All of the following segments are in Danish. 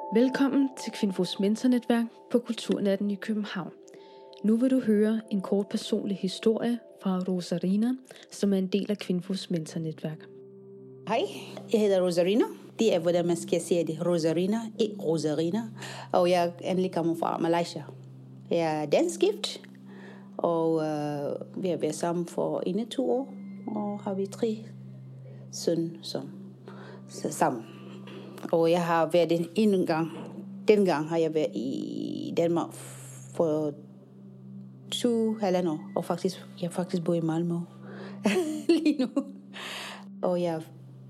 Velkommen til Kvinfos mentornetværk på Kulturnatten i København. Nu vil du høre en kort personlig historie fra Rosarina, som er en del af Kvinfos mentornetværk. Hej, jeg hedder Rosarina. Det er, hvordan man skal sige det. Rosarina, ikke Rosarina. Og jeg endelig kommer fra Malaysia. Jeg er danskgift, og vi har været sammen for 21 år, og har vi 3 søn sammen. Og jeg har været en gang. Dengang har jeg været i Danmark for 2,5 år. Og jeg faktisk bor i Malmø lige nu. Og jeg er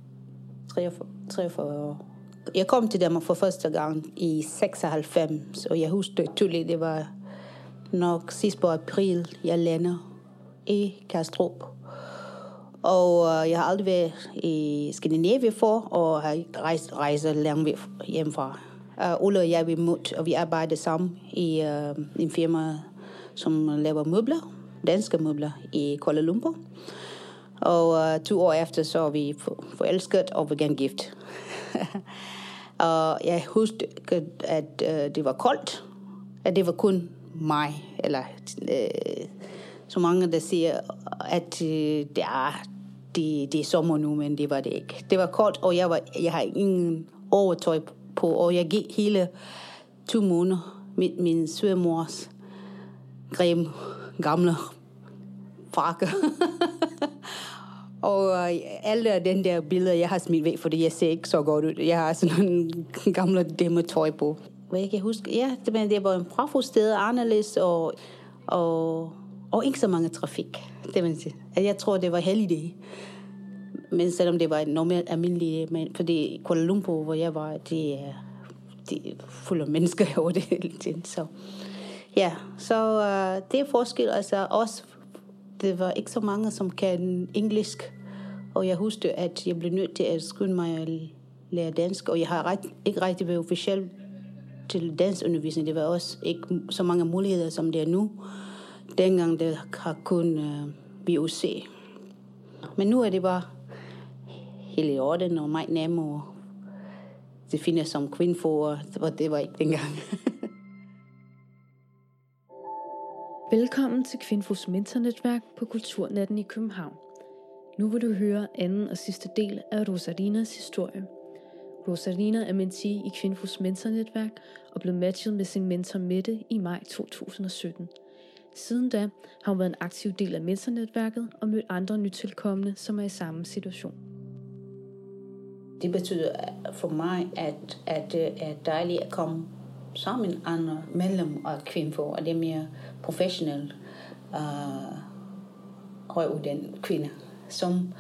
43 år. Jeg kom til Danmark for første gang i 96. Og jeg husker tydeligt, det var nok sidst på april, jeg lander i Kastrup. Og jeg har aldrig været i Skandinavien for, og har rejst langt væk hjemmefra. Ulla og jeg vi mødte, og vi arbejdede sammen i en firma, som laver møbler, danske møbler i Kuala Lumpur. Og 2 år efter så var vi forelsket og var gerne gift. Og jeg husker, at det var koldt, at det var kun mig, eller så mange, der siger, at det er sommer nu, men det var det ikke. Det var koldt, og jeg har ingen overtøj på, og jeg gik hele 2 måneder med min svigermors gamle frakke. Og alle den der billeder, jeg har smidt væk, fordi jeg ser ikke så godt ud. Jeg har sådan nogle gamle demmetøj på. Hvad jeg kan huske, ja, det var en pragtfuld sted, anderledes, og ikke så mange trafik, det vil sige. Jeg tror, det var heldig. Men selvom det var en normalt almindelig, men fordi Kuala Lumpur, hvor jeg var, det er fuld af mennesker over det hele tiden. Så ja, så det er forskel. Altså også, det var ikke så mange, som kan engelsk. Og jeg husker, at jeg blev nødt til at skynde mig at lære dansk. Og jeg har ikke rigtig været officiel til danskundervisning. Det var også ikke så mange muligheder, som det er nu. Dengang det har kun VUC. Men nu er det bare hele i orden og meget nemmere. Det findes som Kvinfo, og det var ikke dengang. Velkommen til Kvinfos mentornetværk på Kulturnatten i København. Nu vil du høre anden og sidste del af Rosarinas historie. Rosarina er mentee i Kvinfos mentornetværk og blev matchet med sin mentor Mette i maj 2017. Siden da har hun været en aktiv del af mentornetværket og mødt andre nytilkommende, som er i samme situation. Det betyder for mig, at det er dejligt at komme sammen med andre medlem af Kvinfo, og det er mere professionelle, højuddannede kvinder, som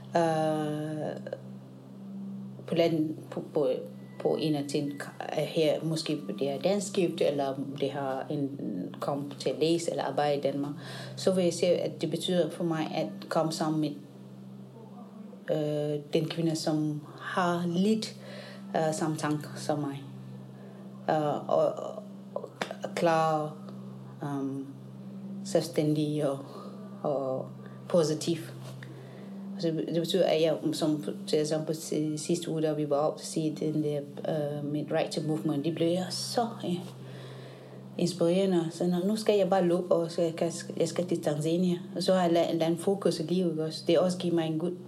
på landet på en af ting her, måske det er danskgift, eller det har kommet til at læse eller arbejde i Danmark, så vil jeg sige, at det betyder for mig at komme sammen med den kvinde, som har lidt samme tanker som mig. Og klar, selvstændig og positiv. Det betyder, at jeg, som til eksempel sidste uge, da vi var oppe til at sige den der med Right to Movement, det blev jeg så inspirerende. Så nu skal jeg bare løbe, og jeg skal til Tanzania. Og så har jeg lavet en fokus i livet også. Det også giver mig en god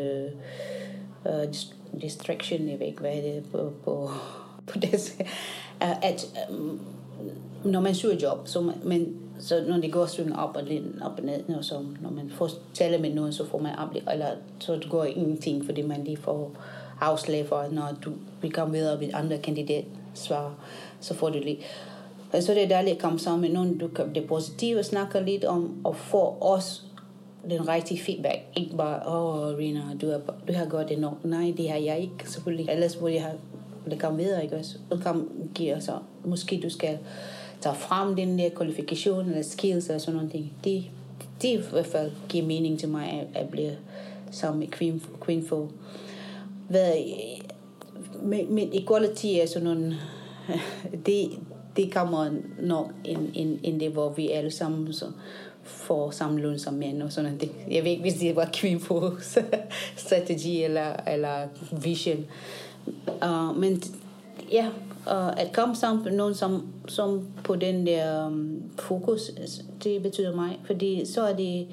distraction, jeg ved ikke, hvad det er på det. At når man søger job, så når det går sådan op og ned, og så når man får tale med nogen, så får man eller så det går ingenting, fordi man lige får afslag for, når vi kommer videre med andre kandidatsvar, så får du lige. Så det er dejligt at komme sammen med nogen, du kan blive positiv og snakke lidt om, og få også den rigtige feedback. Ikke bare, Rina, du har gjort det nok. Nej, det har jeg ikke, selvfølgelig. Ellers burde jeg have det komme videre, ikke også? Så kan give så måske du skal tage frem den der kvalifikation eller skills eller sådan noget. Det i hvert fald giver mening til mig at blive sammen med Kvinfo. Med equality er sådan nogle det kommer nok ind det, hvor vi alle sammen så får samme løn som mænd og sådan noget. Jeg ved ikke, hvis det var Kvinfos strategi eller vision. Men ja, og at komme sammen med nogen, som på den der fokus, det betyder mig, fordi så er det,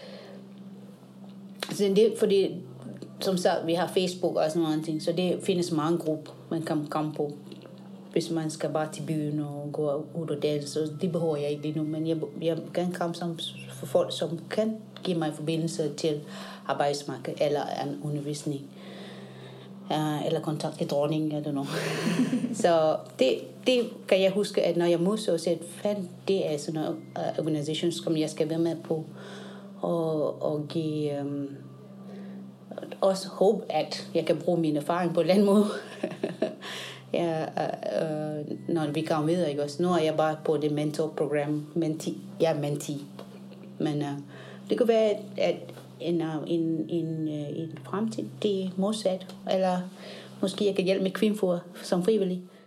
fordi som sagt, vi har Facebook og sådan nogle ting, så det findes mange grupper, man kan komme på, hvis man skal bare til byen og gå ud og danse, så det behøver jeg ikke lige nu, men jeg kan komme sammen for folk, som kan give mig forbindelse til arbejdsmarkedet eller en undervisning. Eller kontakt til dronningen, eller noget. Så det kan jeg huske, at når jeg modtog, så fandt det er sådan en organisation, som jeg skal være med på, og give også håb, at jeg kan bruge min erfaring på en eller anden måde. Når vi kommer videre, ikke også? Nu er jeg bare på det mentorprogram, jeg er mentee. Men det kunne være, at en fremtid, det er modsat, eller måske jeg kan hjælpe med Kvinfo som frivillig.